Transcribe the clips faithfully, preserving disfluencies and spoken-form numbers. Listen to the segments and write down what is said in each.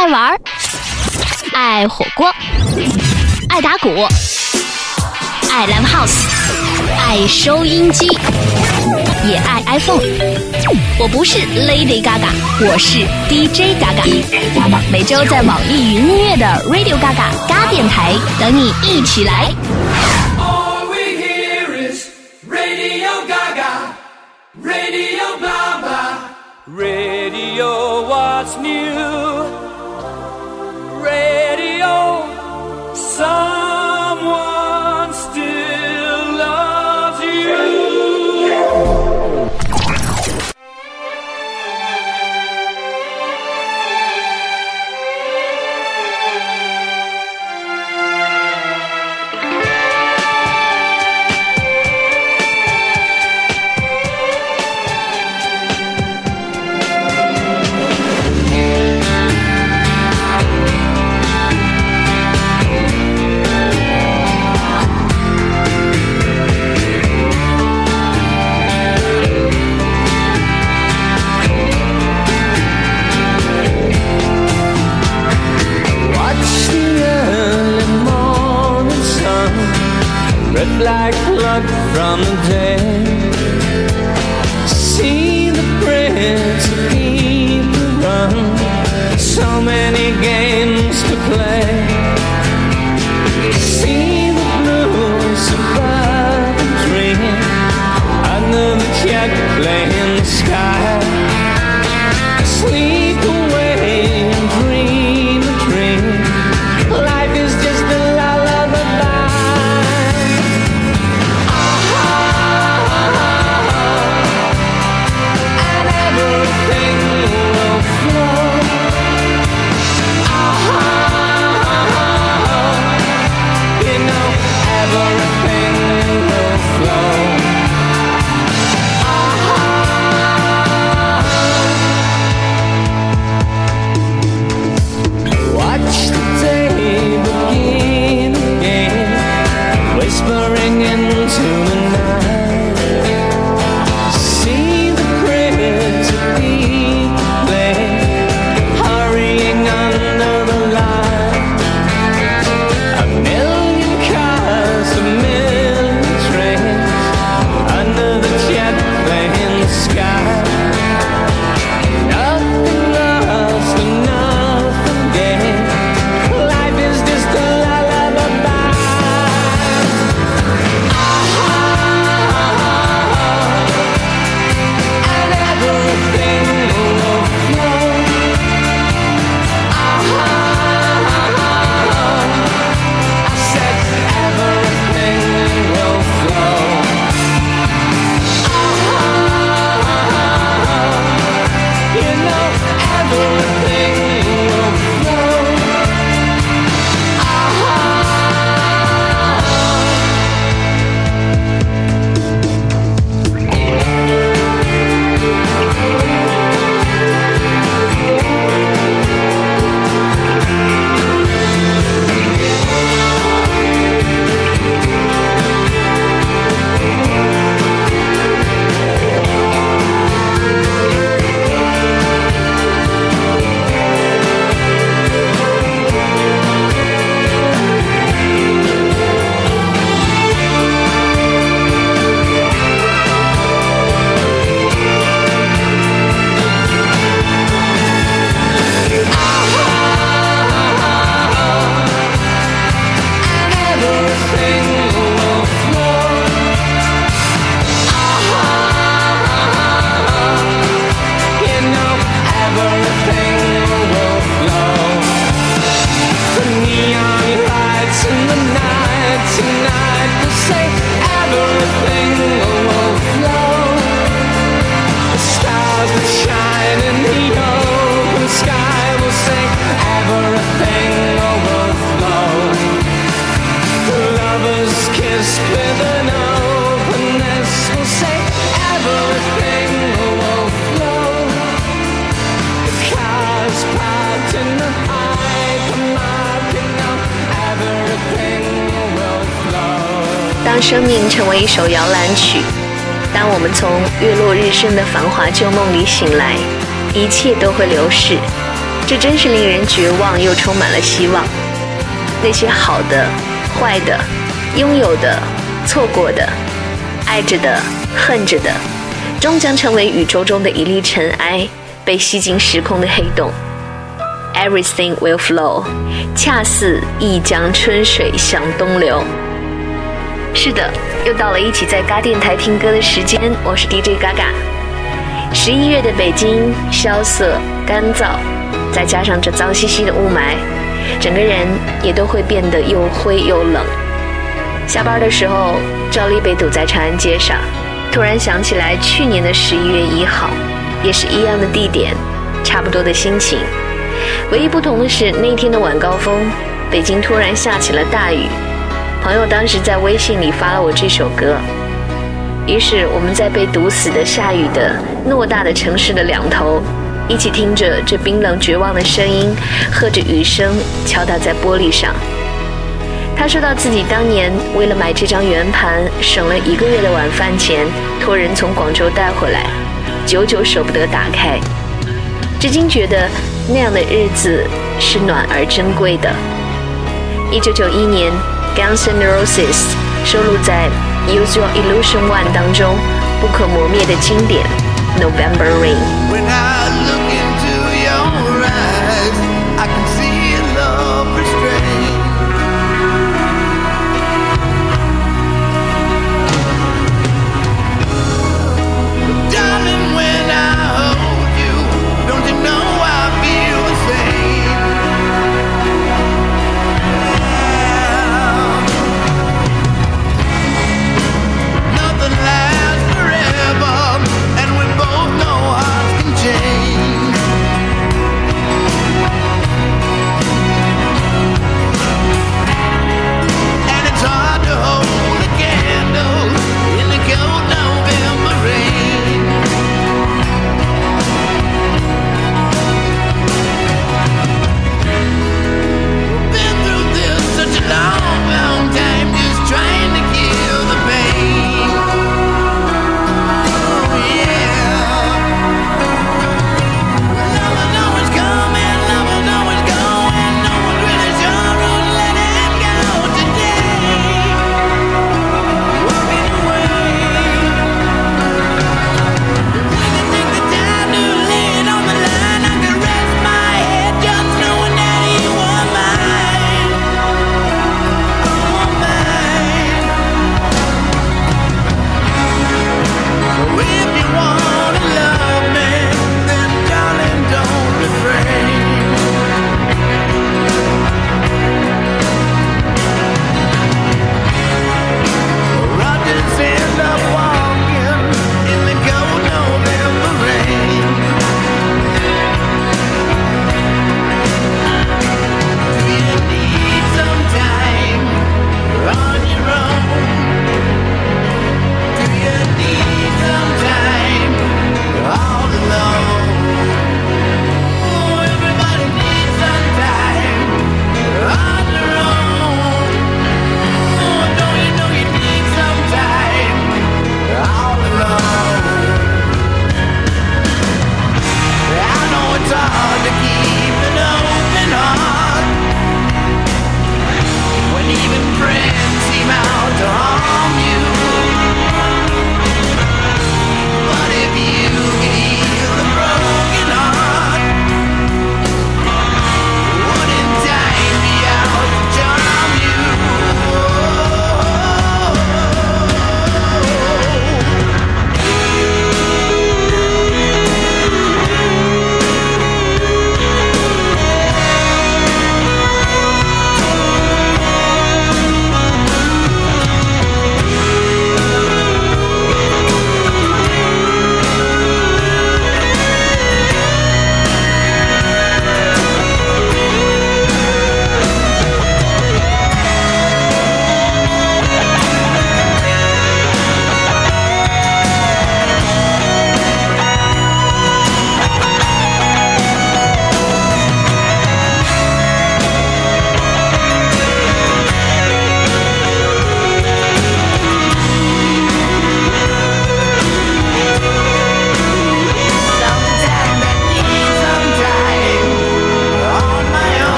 爱玩，爱火锅，爱打鼓，爱 Live House， 爱收音机，也爱 iPhone。我不是 Lady Gaga， 我是 D J Gaga。每周在网易云音乐的 Radio Gaga 嘎电台等你一起来。 All we hear is Radio Gaga, Radio blah blah, Radio what's new, Radio someone still loves you. Like blood from the dead, see the prince of people run, so many games to play, see the blues above the dream, under the jet playing sky, sleep away and dream a dream, life is just a 当生命成为一首摇篮曲，当我们从月落日升的繁华旧梦里醒来，一切都会流逝， 这真是令人绝望又充满了希望。那些好的、坏的、拥有的、错过的、爱着的、恨着的，终将成为宇宙中的一粒尘埃，被吸进时空的黑洞。Everything will flow， 恰似一江春水向东流。是的，又到了一起在嘎电台听歌的时间，我是 D J 嘎嘎。十一月的北京萧瑟干燥，再加上这脏兮兮的雾霾，整个人也都会变得又灰又冷。下班的时候照例被堵在长安街上，突然想起来去年的十一月一号，也是一样的地点，差不多的心情。唯一不同的是，那天的晚高峰，北京突然下起了大雨。朋友当时在微信里发了我这首歌，于是我们在被堵死的下雨的偌大的城市的两头，一起听着这冰冷绝望的声音，和着雨声敲打在玻璃上。他说到自己当年为了买这张圆盘，省了一个月的晚饭钱，托人从广州带回来，久久舍不得打开。至今觉得那样的日子是暖而珍贵的。一九九一年 Guns N' Roses 收录在 Use Your Illusion One 当中不可磨灭的经典 November Rain。 When I look into your eyes, I can see love restrained. But darling, when I hold you, don't you know I feel the same? Nothing lasts forever, and we both know hearts can change.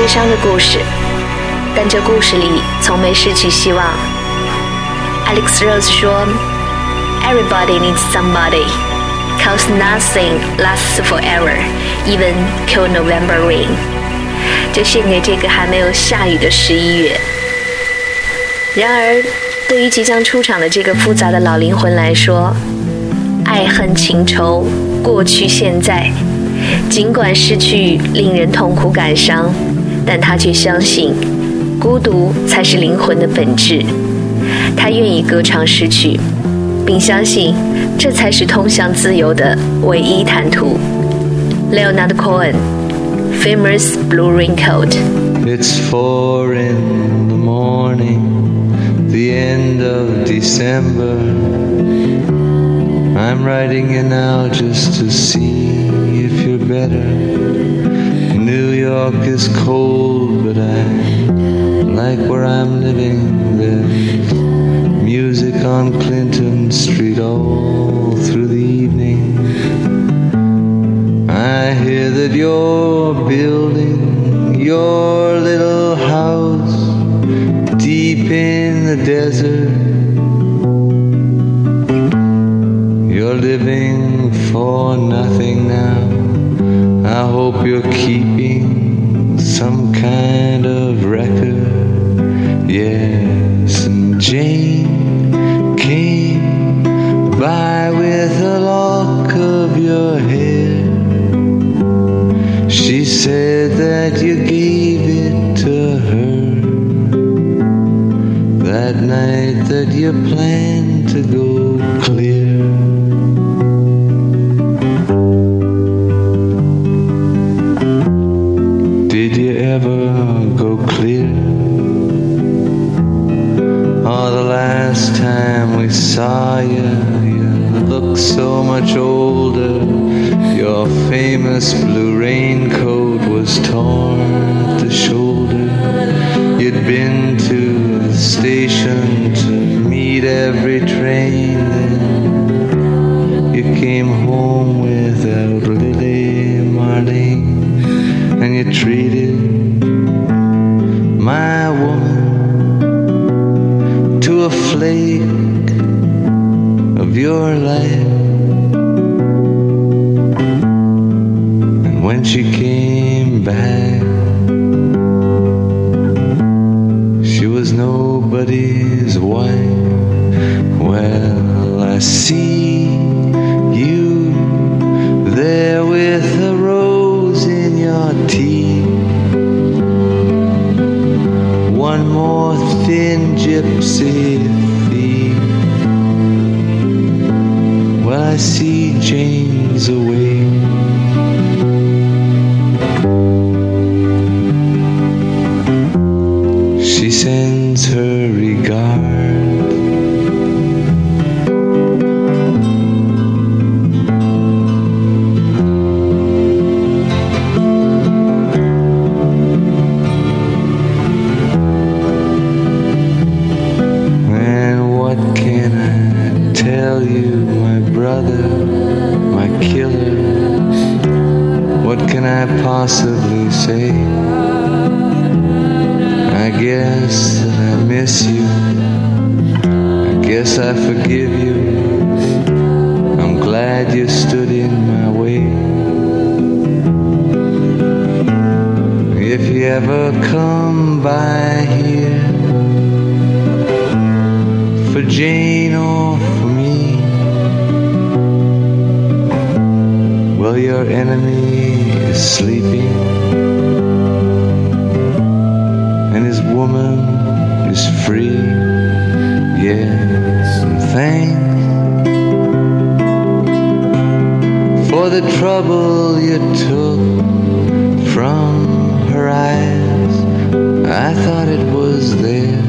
悲伤的故事，但这故事里从没失去希望。Alex Rose 说 Everybody needs somebody, cause nothing lasts forever, even cold November rain. 就献给这个还没有下雨的十一月。然而对于即将出场的这个复杂的老灵魂来说，爱恨情仇过去现在，尽管失去令人痛苦感伤，但他却相信孤独才是灵魂的本质。他愿意歌唱诗曲，并相信这才是通向自由的唯一坦途。 Leonard Cohen, Famous Blue Raincoat. It's four in the morning, the end of December. I'm writing you now just to see if you're better. New York is cold, but I like where I'm living. There's music on Clinton Street all through the evening. I hear that you're building your little house deep in the desert. You're living for nothing now. I hope you're keeping some kind of record. Yes, and Jane came by with a lock of your hair. She said that you gave it to her that night that you planned to go clear. Did you ever go clear? Oh, the last time we saw you, you looked so much older. Your famous blue raincoat was torn at the shoulder. You'd been to the station to meet every train. Then you came home without Lily Marlene, and you treated my woman to a flake of your life. And when she came back, she was nobody's wife. Well, I see you there with a rose in your teeth, one more thin gypsy thief. Well, I see Jane's away. She sends her regard. And what can I tell you, my brother, my killer? What can I possibly say? I guess that I miss you. I guess I forgive you. I'm glad you stood in my way. If you ever come by here for Jane or for me, well, your enemy is sleeping, and his woman is free. Yes, and thanks for the trouble you took from her eyes. I thought it was there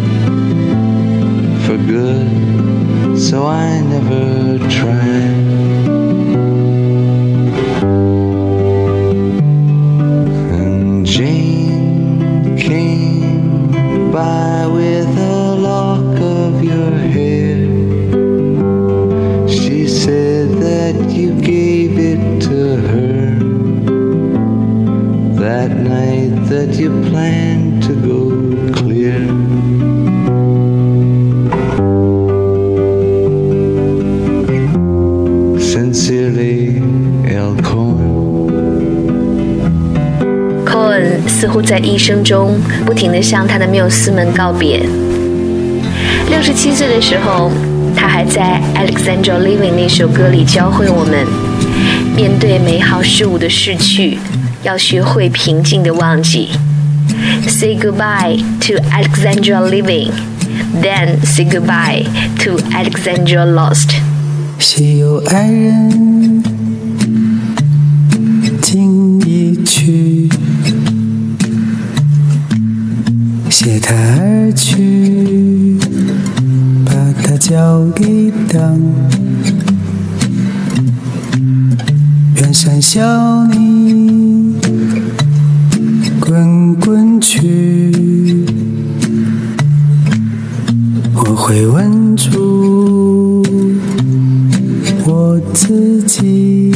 for good, so I never tried. And Jane came by with a lock of your hair. She said that you gave it to her that night that you 似乎在一生中不停地向他的缪斯们告别。六十七岁的时候，他还在 Alexandra Living 那首歌里教会我们，面对美好事物的逝去，要学会平静地忘记。Say goodbye to Alexandra Living, then say goodbye to Alexandra Lost. 谁有爱人竟已去，携他而去，把他交给当。远山小泥滚滚去，我会稳住我自己，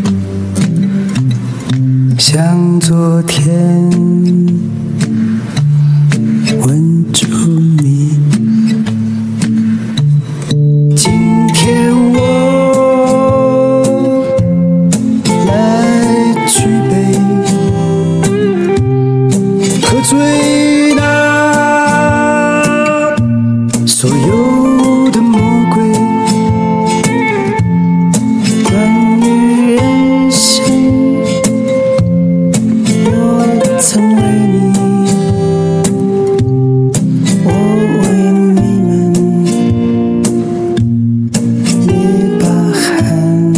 像昨天稳住你。今天我来举杯，喝醉那所有的魔鬼，关于人生，我曾为你，我为你们捏把汗。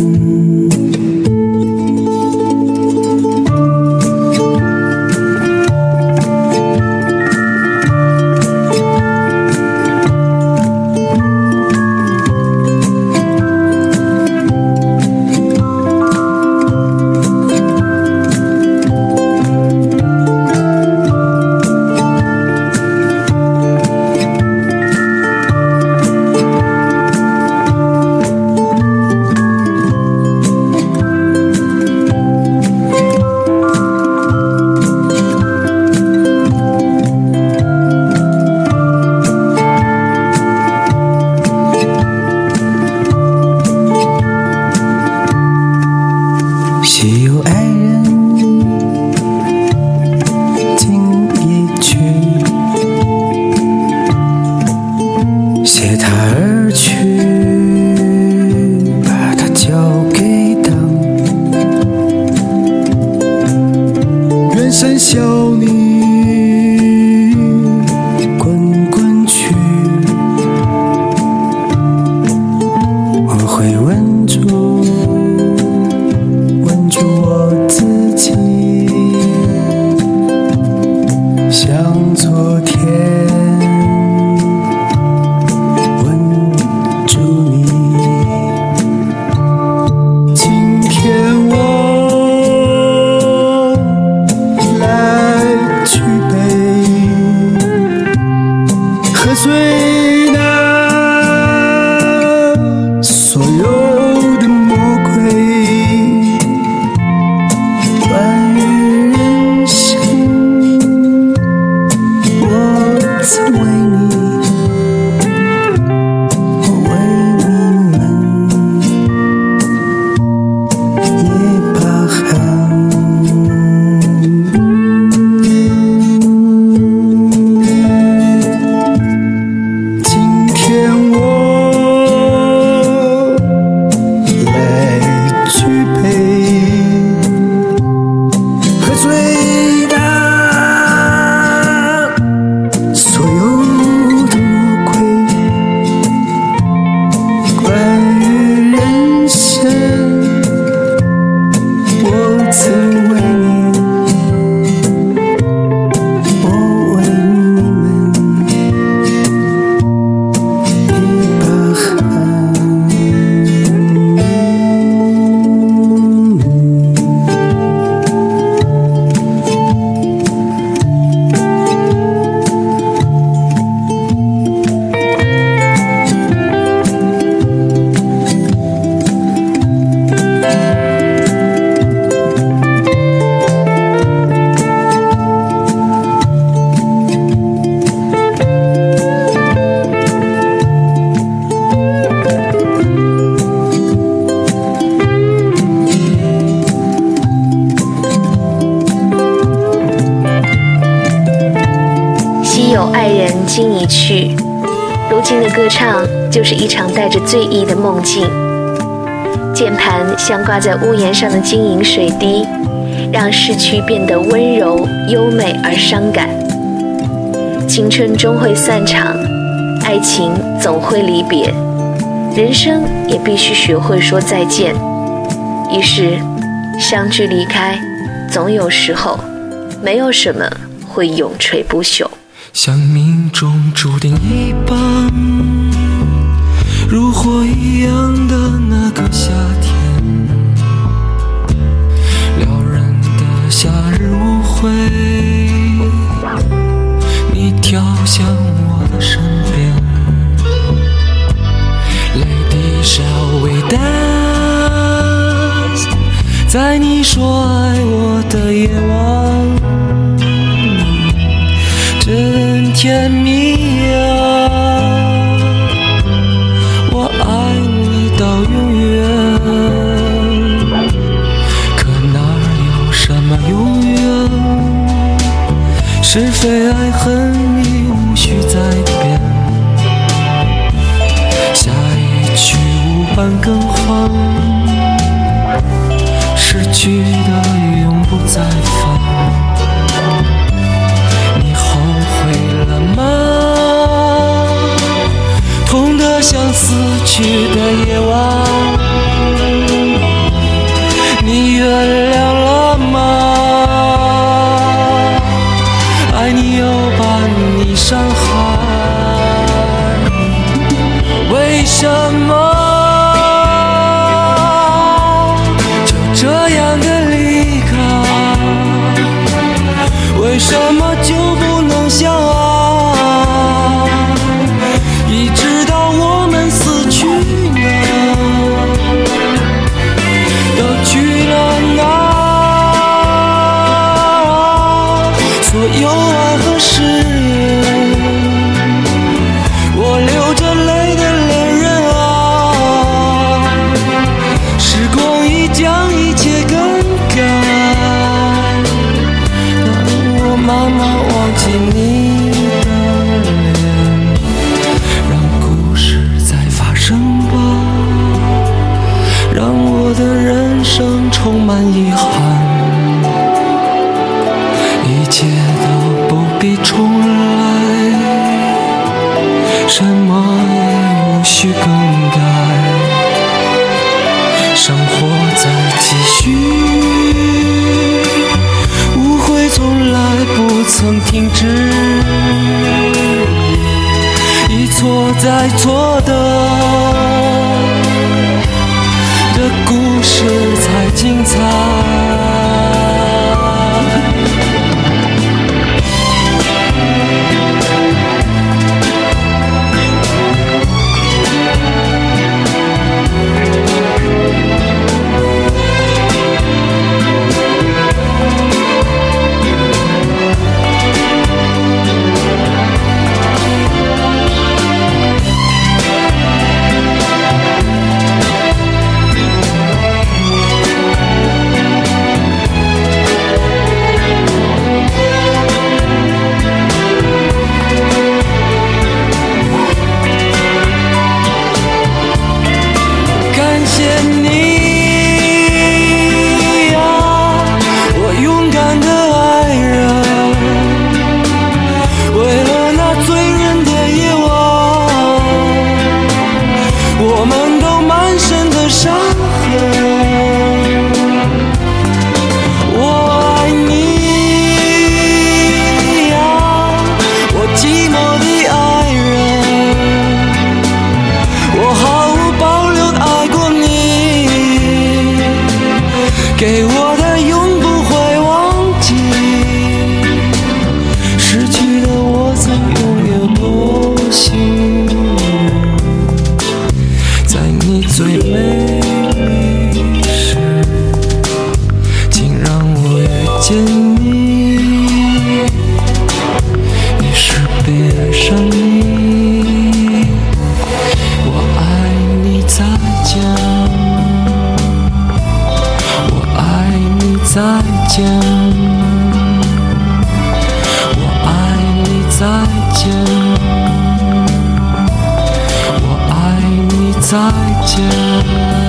谁有爱人竟已去，携他而去，把他交给当。远山小泥滚滚去，我会稳住稳住我自己，像昨天稳住你。今天我来去。如今的歌唱就是一场带着醉意的梦境。键盘像挂在屋檐上的晶莹水滴，让逝去变得温柔、优美而伤感。青春终会散场，爱情总会离别，人生也必须学会说再见。于是，相聚离开，总有时候，没有什么会永垂不朽。 像命中注定一般，如火一样的那个夏天，撩人的夏日舞会，你跳向我的身边。Lady shall we dance， 在你说爱我的夜晚，真甜蜜啊，我爱你到永远。可哪有什么永远，是非爱恨已无需再变。下一曲无伴更换，失去的永不再返。痛得像死去的夜晚，你原谅了吗？爱你又把你伤害，为什么就这样的离开？为什么就不能相爱？一直到我们死去呢，都去了哪？所有爱和誓言，我流着泪的恋人啊，时光已将一切更改，让我慢慢忘记你的脸，让故事再发生吧，让我的人生充满遗憾，一切都不必重来，什么也无需更改，生活在继续，误会从来不曾停止，一错再错的的故事才精彩。给我的永不会忘记，失去的我曾拥有多幸运，在你最美丽时，竟让我遇见你，于是别爱上你，我爱你，再见。再见，我爱你，再见。 再见。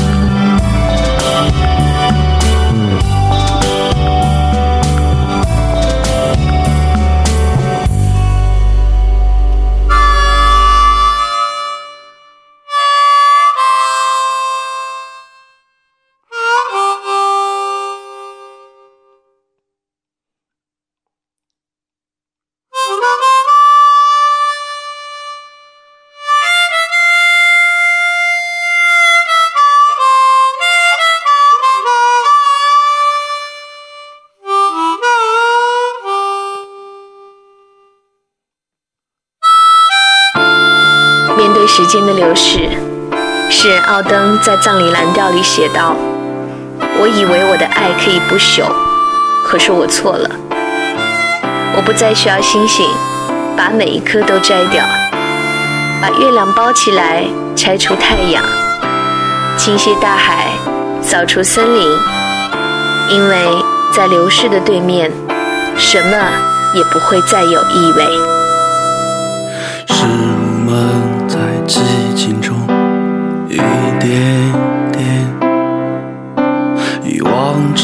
面对时间的流逝，诗人奥登在葬礼蓝调里写道：我以为我的爱可以不朽，可是我错了。我不再需要星星，把每一颗都摘掉，把月亮包起来，拆出太阳，倾泻大海，扫除森林，因为在流逝的对面，什么也不会再有意味。 是我们在寂静中一点点遗忘着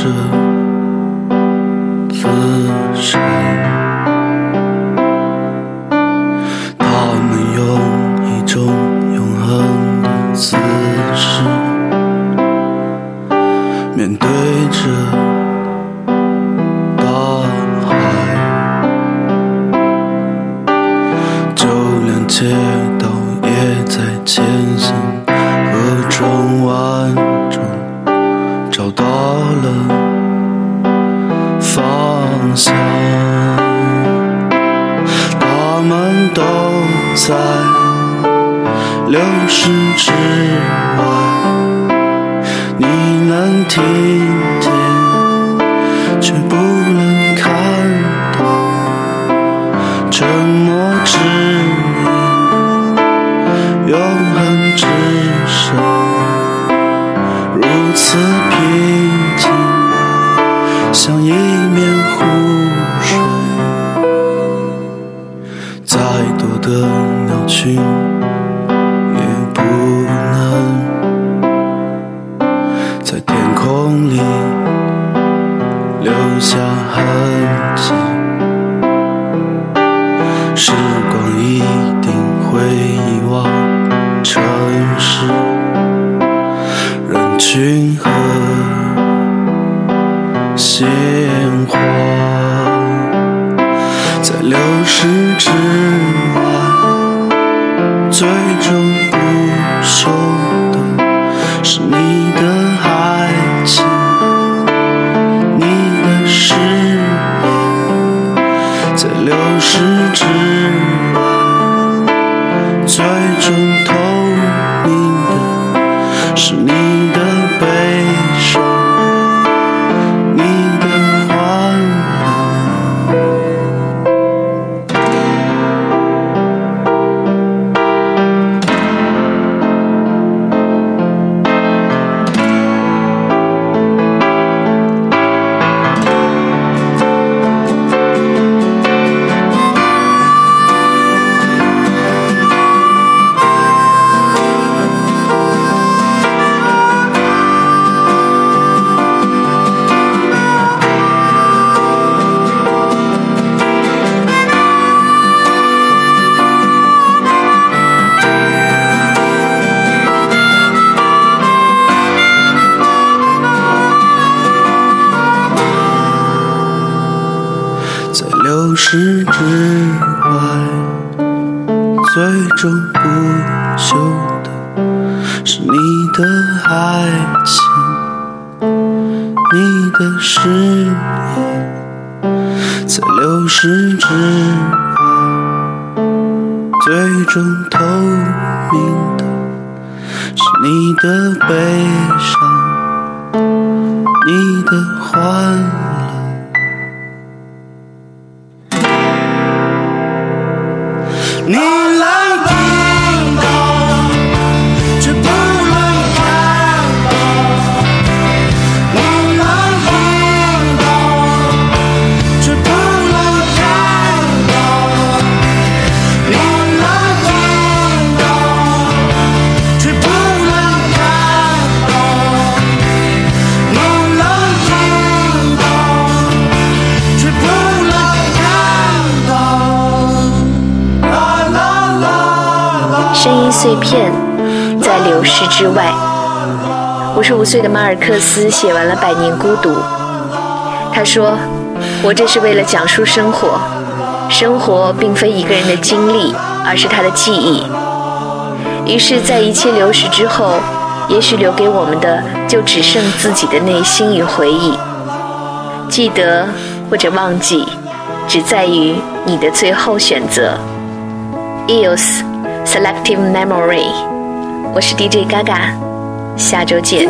自身，他们用一种永恒的姿势面对着大海，就连街道也在前行和转弯中找到了方向，他们都在流逝之外，你能听见却不能看到，沉默之音，永恒之声，如此平静，像一面湖水。再多的鸟群也不能在天空里留下痕迹，时光一定会遗忘城市人群和鲜花，在流逝之外，最终不朽的是你的爱情，你的誓言，在流逝之外，最终透明的是你的悲伤，你的欢乐。在流逝之外，最终不朽的是你的爱情，你的誓言，在流逝之外，最终透明的是你的悲伤，你的欢乐。你能听到，却不能看到。你能听到，却不能看到。你能听到，却不碎片在流逝之外。五十五岁的马尔克斯写完了《百年孤独》，他说：“活着是为了讲述生活，生活并非一个人的经历，而是他的记忆。”于是，在一切流逝之后，也许留给我们的就只剩自己的内心与回忆。记得或者忘记，只在于你的最后选择。E O S Selective Memory， 我是 D J Gaga， 下周见。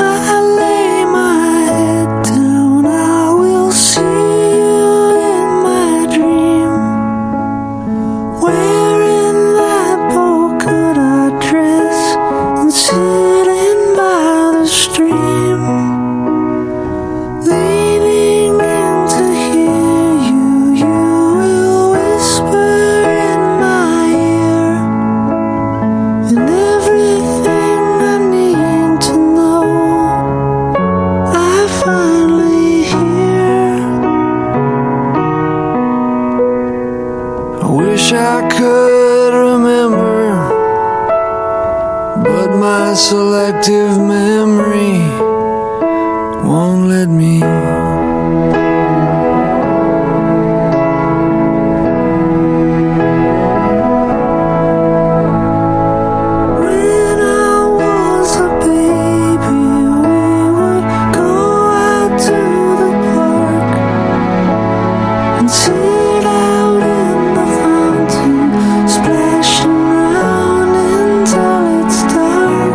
Selective memory won't let me. When I was a baby, we would go out to the park and sit out in the fountain, splashing around until it's dark.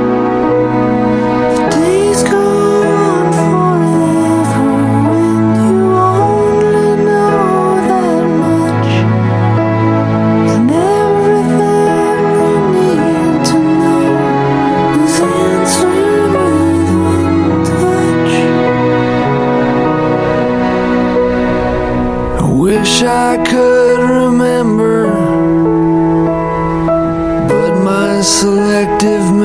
Wish I could remember, but my selective